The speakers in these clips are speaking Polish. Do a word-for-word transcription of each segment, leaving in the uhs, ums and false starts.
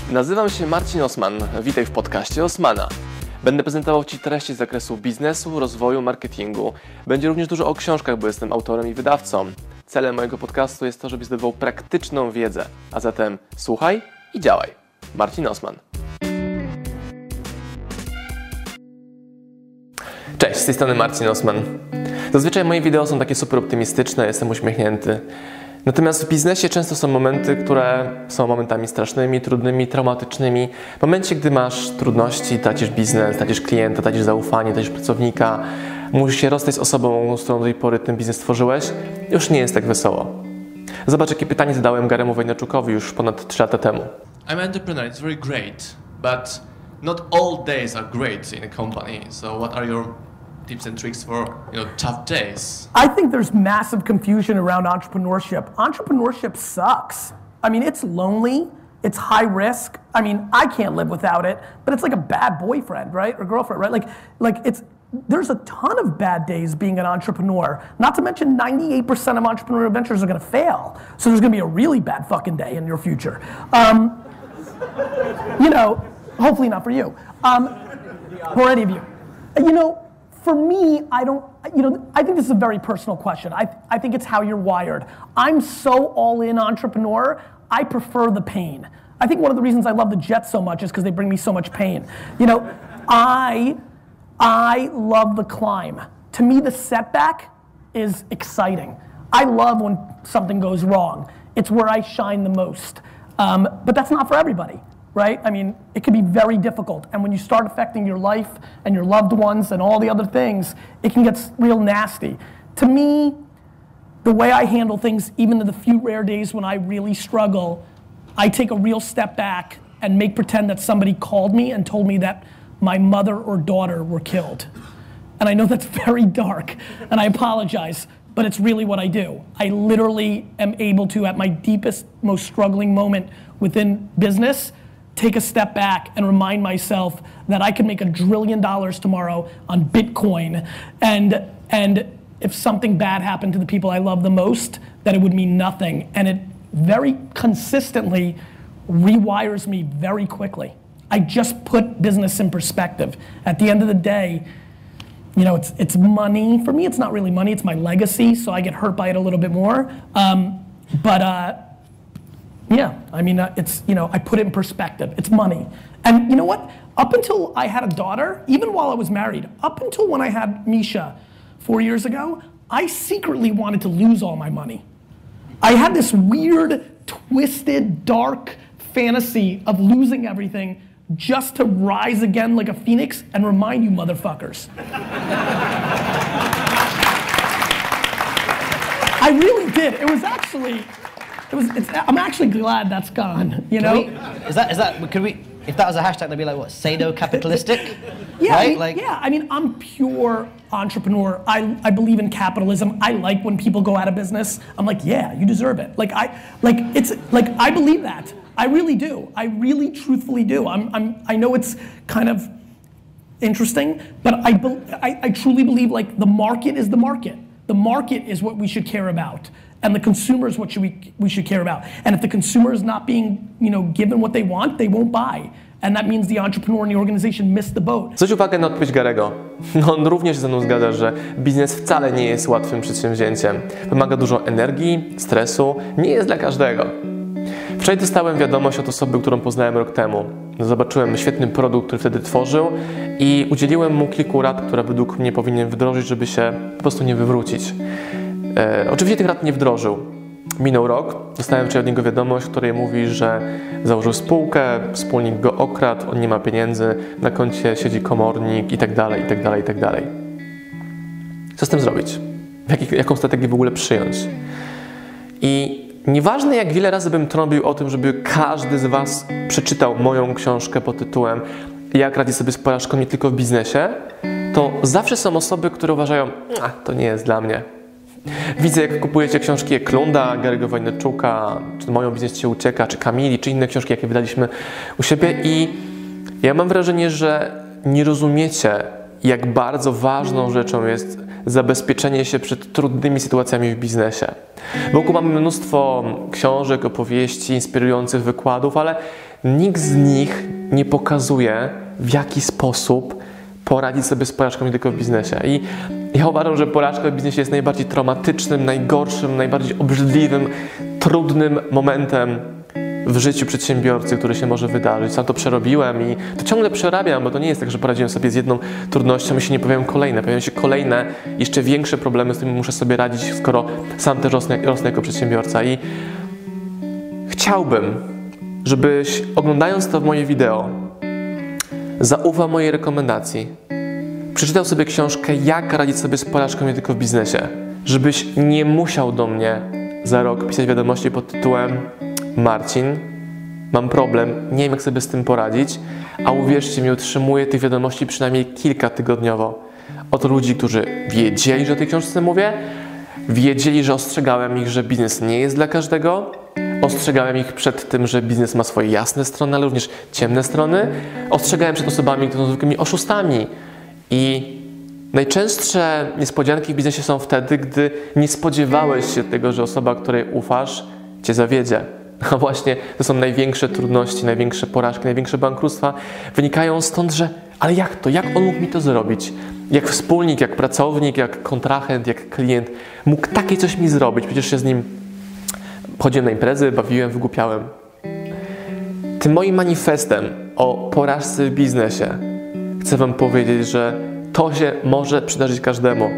Nazywam się Marcin Osman. Witaj w podcaście Osmana. Będę prezentował Ci treści z zakresu biznesu, rozwoju, marketingu. Będzie również dużo o książkach, bo jestem autorem i wydawcą. Celem mojego podcastu jest to, żebyś zdobywał praktyczną wiedzę. A zatem słuchaj i działaj. Marcin Osman. Cześć, z tej strony Marcin Osman. Zazwyczaj moje wideo są takie super optymistyczne, jestem uśmiechnięty. Natomiast w biznesie często są momenty, które są momentami strasznymi, trudnymi, traumatycznymi. W momencie, gdy masz trudności, tracisz biznes, tracisz klienta, tracisz zaufanie, tracisz pracownika, musisz się rozstać z osobą, z którą do tej pory ten biznes tworzyłeś, już nie jest tak wesoło. Zobacz, jakie pytanie zadałem Gary'emu Vaynerchukowi już ponad trzy lata temu. I'm an entrepreneur, it's very great, but not all days are great in a company. So what are your tips and tricks for, you know, tough days? I think there's massive confusion around entrepreneurship. Entrepreneurship sucks. I mean, it's lonely, it's high risk. I mean, I can't live without it, but it's like a bad boyfriend, right? Or girlfriend, right? Like, like it's, there's a ton of bad days being an entrepreneur. Not to mention ninety-eight percent of entrepreneurial ventures are gonna fail. So there's gonna be a really bad fucking day in your future. Um, you know, hopefully not for you, um, or any of you. You know, for me, I don't, you know, I think this is a very personal question. I, I think it's how you're wired. I'm so all-in entrepreneur, I prefer the pain. I think one of the reasons I love the Jets so much is because they bring me so much pain. You know, I, I love the climb. To me, the setback is exciting. I love when something goes wrong. It's where I shine the most. Um, but that's not for everybody. Right? I mean, it can be very difficult. And when you start affecting your life and your loved ones and all the other things, it can get real nasty. To me, the way I handle things, even in the few rare days when I really struggle, I take a real step back and make pretend that somebody called me and told me that my mother or daughter were killed. And I know that's very dark, and I apologize, but it's really what I do. I literally am able to, at my deepest, most struggling moment within business, take a step back and remind myself that I could make a trillion dollars tomorrow on Bitcoin, and and if something bad happened to the people I love the most, that it would mean nothing. And it very consistently rewires me very quickly. I just put business in perspective. At the end of the day, you know, it's it's money. For me, it's not really money, it's my legacy, so I get hurt by it a little bit more. Um, but uh, Yeah, I mean, uh, it's, you know, I put it in perspective. It's money. And you know what? Up until I had a daughter, even while I was married, up until when I had Misha four years ago, I secretly wanted to lose all my money. I had this weird, twisted, dark fantasy of losing everything just to rise again like a phoenix and remind you motherfuckers. I really did. It was actually, It was, it's, I'm actually glad that's gone, you know? We, is that, is that, could we, if that was a hashtag, they'd be like, what, sado-capitalistic? Yeah, right? I mean, like, yeah, I mean, I'm pure entrepreneur. I, I believe in capitalism. I like when people go out of business. I'm like, yeah, you deserve it. Like, I, like, it's, like, I believe that. I really do. I really truthfully do. I'm, I'm, I know it's kind of interesting, but I, I, I truly believe, like, the market is the market. The market is what we should care about. And the consumer is what should we, we should care about. And if the consumer is not being, you know, given what they want, they won't buy. And that means the entrepreneur and the organization missed the boat. Zwróć uwagę na odpowiedź Gary'ego. No, on również się ze mną zgadza, że biznes wcale nie jest łatwym przedsięwzięciem. Wymaga dużo energii, stresu, nie jest dla każdego. Wczoraj dostałem wiadomość od osoby, którą poznałem rok temu. Zobaczyłem świetny produkt, który wtedy tworzył i udzieliłem mu kilku rad, które według mnie powinien wdrożyć, żeby się po prostu nie wywrócić. E, oczywiście tych rad nie wdrożył. Minął rok, dostałem wczoraj od niego wiadomość, w której mówi, że założył spółkę, wspólnik go okradł, on nie ma pieniędzy, na koncie siedzi komornik i tak dalej, i tak dalej, i tak dalej. Co z tym zrobić? Jak, jaką strategię w ogóle przyjąć? I nieważne, jak wiele razy bym trąbił o tym, żeby każdy z Was przeczytał moją książkę pod tytułem Jak radzić sobie z porażką nie tylko w biznesie, to zawsze są osoby, które uważają, a to nie jest dla mnie. Widzę, jak kupujecie książki Eklunda, Gary'ego Vaynerchuka, czy Moją biznes Cię ucieka, czy Kamili, czy inne książki, jakie wydaliśmy u siebie i ja mam wrażenie, że nie rozumiecie, jak bardzo ważną rzeczą jest zabezpieczenie się przed trudnymi sytuacjami w biznesie. Wokół mamy mnóstwo książek, opowieści, inspirujących wykładów, ale nikt z nich nie pokazuje, w jaki sposób poradzić sobie z porażką nie tylko w biznesie. I ja uważam, że porażka w biznesie jest najbardziej traumatycznym, najgorszym, najbardziej obrzydliwym, trudnym momentem w życiu przedsiębiorcy, który się może wydarzyć. Sam to przerobiłem i to ciągle przerabiam, bo to nie jest tak, że poradziłem sobie z jedną trudnością i się nie pojawiają kolejne. Pojawiają się kolejne, jeszcze większe problemy, z którymi muszę sobie radzić, skoro sam też rosnę, rosnę jako przedsiębiorca. I chciałbym, żebyś oglądając to moje wideo, zaufał mojej rekomendacji, przeczytał sobie książkę Jak radzić sobie z porażką nie tylko w biznesie, żebyś nie musiał do mnie za rok pisać wiadomości pod tytułem Marcin, mam problem, nie wiem jak sobie z tym poradzić, a uwierzcie mi, otrzymuję tych wiadomości przynajmniej kilka tygodniowo od ludzi, którzy wiedzieli, że o tej książce mówię, wiedzieli, że ostrzegałem ich, że biznes nie jest dla każdego, ostrzegałem ich przed tym, że biznes ma swoje jasne strony, ale również ciemne strony, ostrzegałem przed osobami, które są zwykłymi oszustami i najczęstsze niespodzianki w biznesie są wtedy, gdy nie spodziewałeś się tego, że osoba, której ufasz, cię zawiedzie. A właśnie to są największe trudności, największe porażki, największe bankructwa. Wynikają stąd, że ale jak to? Jak on mógł mi to zrobić? Jak wspólnik, jak pracownik, jak kontrahent, jak klient mógł takie coś mi zrobić? Przecież się z nim chodziłem na imprezy, bawiłem, wygłupiałem. Tym moim manifestem o porażce w biznesie chcę wam powiedzieć, że to się może przydarzyć każdemu.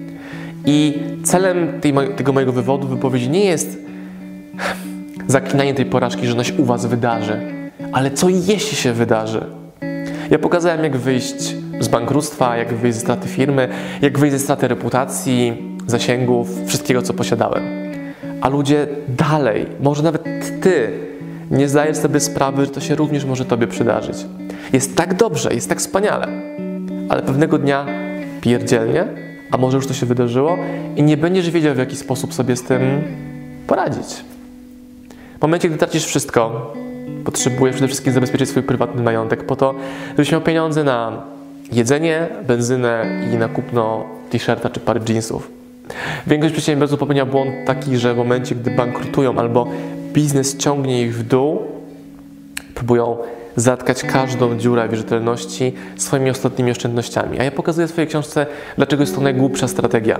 I celem tej, tego mojego wywodu, wypowiedzi nie jest zaklinanie tej porażki, że ona się u was wydarzy. Ale co jeśli się wydarzy? Ja pokazałem, jak wyjść z bankructwa, jak wyjść ze straty firmy, jak wyjść ze straty reputacji, zasięgów, wszystkiego, co posiadałem. A ludzie dalej, może nawet ty, nie zdajesz sobie sprawy, że to się również może tobie przydarzyć. Jest tak dobrze, jest tak wspaniale, ale pewnego dnia pierdzielnie, a może już to się wydarzyło i nie będziesz wiedział, w jaki sposób sobie z tym poradzić. W momencie, gdy tracisz wszystko, potrzebujesz przede wszystkim zabezpieczyć swój prywatny majątek po to, żebyś miał pieniądze na jedzenie, benzynę i na kupno t-shirta czy pary jeansów. Większość przedsiębiorców popełnia błąd taki, że w momencie, gdy bankrutują albo biznes ciągnie ich w dół, próbują zatkać każdą dziurę wierzytelności swoimi ostatnimi oszczędnościami. A ja pokazuję w swojej książce, dlaczego jest to najgłupsza strategia.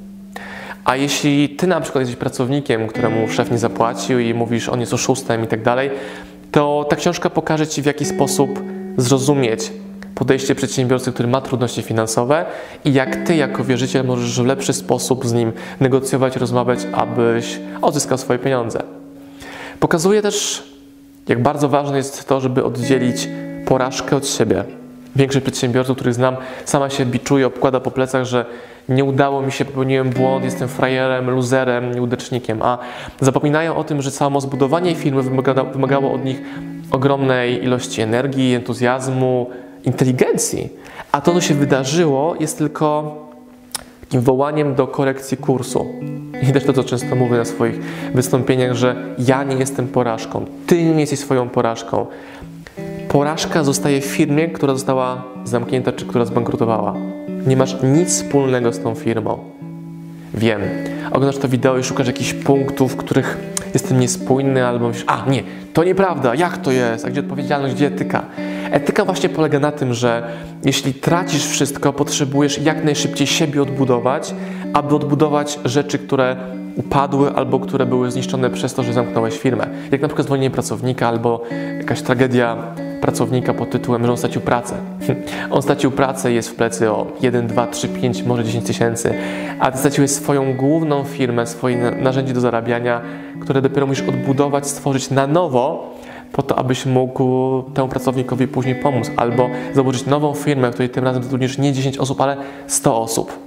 A jeśli ty na przykład jesteś pracownikiem, któremu szef nie zapłacił i mówisz, on jest oszustem i tak dalej, to ta książka pokaże ci, w jaki sposób zrozumieć podejście przedsiębiorcy, który ma trudności finansowe i jak ty jako wierzyciel możesz w lepszy sposób z nim negocjować, rozmawiać, abyś odzyskał swoje pieniądze. Pokazuje też, jak bardzo ważne jest to, żeby oddzielić porażkę od siebie. Większość przedsiębiorców, których znam, sama się biczuje, obkłada po plecach, że nie udało mi się, popełniłem błąd, jestem frajerem, luzerem, nieudacznikiem, a zapominają o tym, że samo zbudowanie firmy wymagało, wymagało od nich ogromnej ilości energii, entuzjazmu, inteligencji, a to, co się wydarzyło, jest tylko takim wołaniem do korekcji kursu. I też to, co często mówię na swoich wystąpieniach, że ja nie jestem porażką, ty nie jesteś swoją porażką. Porażka zostaje w firmie, która została zamknięta, czy która zbankrutowała. Nie masz nic wspólnego z tą firmą. Wiem, oglądasz to wideo i szukasz jakichś punktów, w których jestem niespójny, albo myślisz, a nie, to nieprawda, jak to jest, a gdzie odpowiedzialność, gdzie etyka? Etyka właśnie polega na tym, że jeśli tracisz wszystko, potrzebujesz jak najszybciej siebie odbudować, aby odbudować rzeczy, które upadły albo które były zniszczone przez to, że zamknąłeś firmę. Jak na przykład zwolnienie pracownika albo jakaś tragedia pracownika pod tytułem, że on stracił pracę. On stracił pracę i jest w plecy o jeden, dwa, trzy, pięć, może dziesięć tysięcy, a ty straciłeś swoją główną firmę, swoje narzędzie do zarabiania, które dopiero musisz odbudować, stworzyć na nowo, po to, abyś mógł temu pracownikowi później pomóc, albo założyć nową firmę, w której tym razem zatrudnisz nie dziesięć osób, ale sto osób.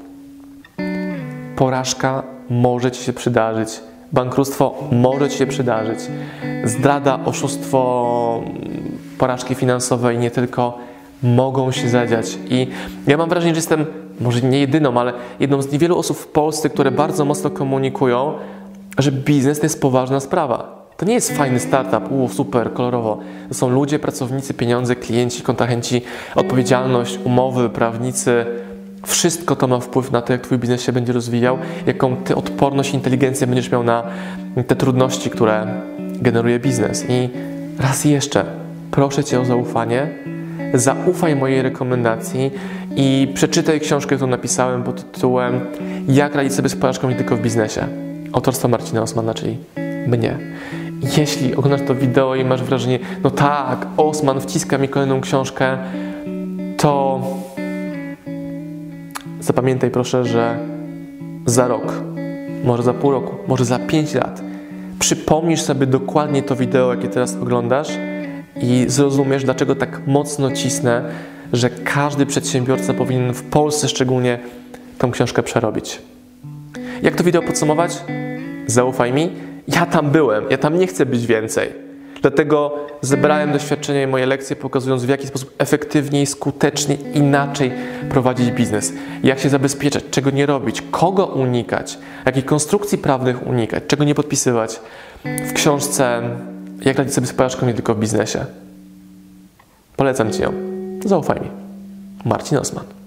Porażka może ci się przydarzyć. Bankructwo może ci się przydarzyć. Zdrada, oszustwo, porażki finansowe i nie tylko mogą się zadziać. I ja mam wrażenie, że jestem może nie jedyną, ale jedną z niewielu osób w Polsce, które bardzo mocno komunikują, że biznes to jest poważna sprawa. To nie jest fajny startup, uuu, super, kolorowo. To są ludzie, pracownicy, pieniądze, klienci, kontrahenci, odpowiedzialność, umowy, prawnicy. Wszystko to ma wpływ na to, jak twój biznes się będzie rozwijał, jaką ty odporność i inteligencję będziesz miał na te trudności, które generuje biznes. I raz jeszcze, proszę Cię o zaufanie, zaufaj mojej rekomendacji i przeczytaj książkę, którą napisałem pod tytułem Jak radzić sobie z porażką nie tylko w biznesie. Autorstwa Marcina Osmana, czyli mnie. Jeśli oglądasz to wideo i masz wrażenie, no tak, Osman wciska mi kolejną książkę, to zapamiętaj proszę, że za rok, może za pół roku, może za pięć lat przypomnisz sobie dokładnie to wideo, jakie teraz oglądasz i zrozumiesz, dlaczego tak mocno cisnę, że każdy przedsiębiorca powinien w Polsce szczególnie tą książkę przerobić. Jak to wideo podsumować? Zaufaj mi, ja tam byłem, ja tam nie chcę być więcej. Dlatego zebrałem doświadczenie i moje lekcje, pokazując w jaki sposób efektywniej, skutecznie, inaczej prowadzić biznes. Jak się zabezpieczać, czego nie robić, kogo unikać, jakich konstrukcji prawnych unikać, czego nie podpisywać. W książce Jak radzić sobie z porażką nie tylko w biznesie. Polecam Ci ją. Zaufaj mi. Marcin Osman.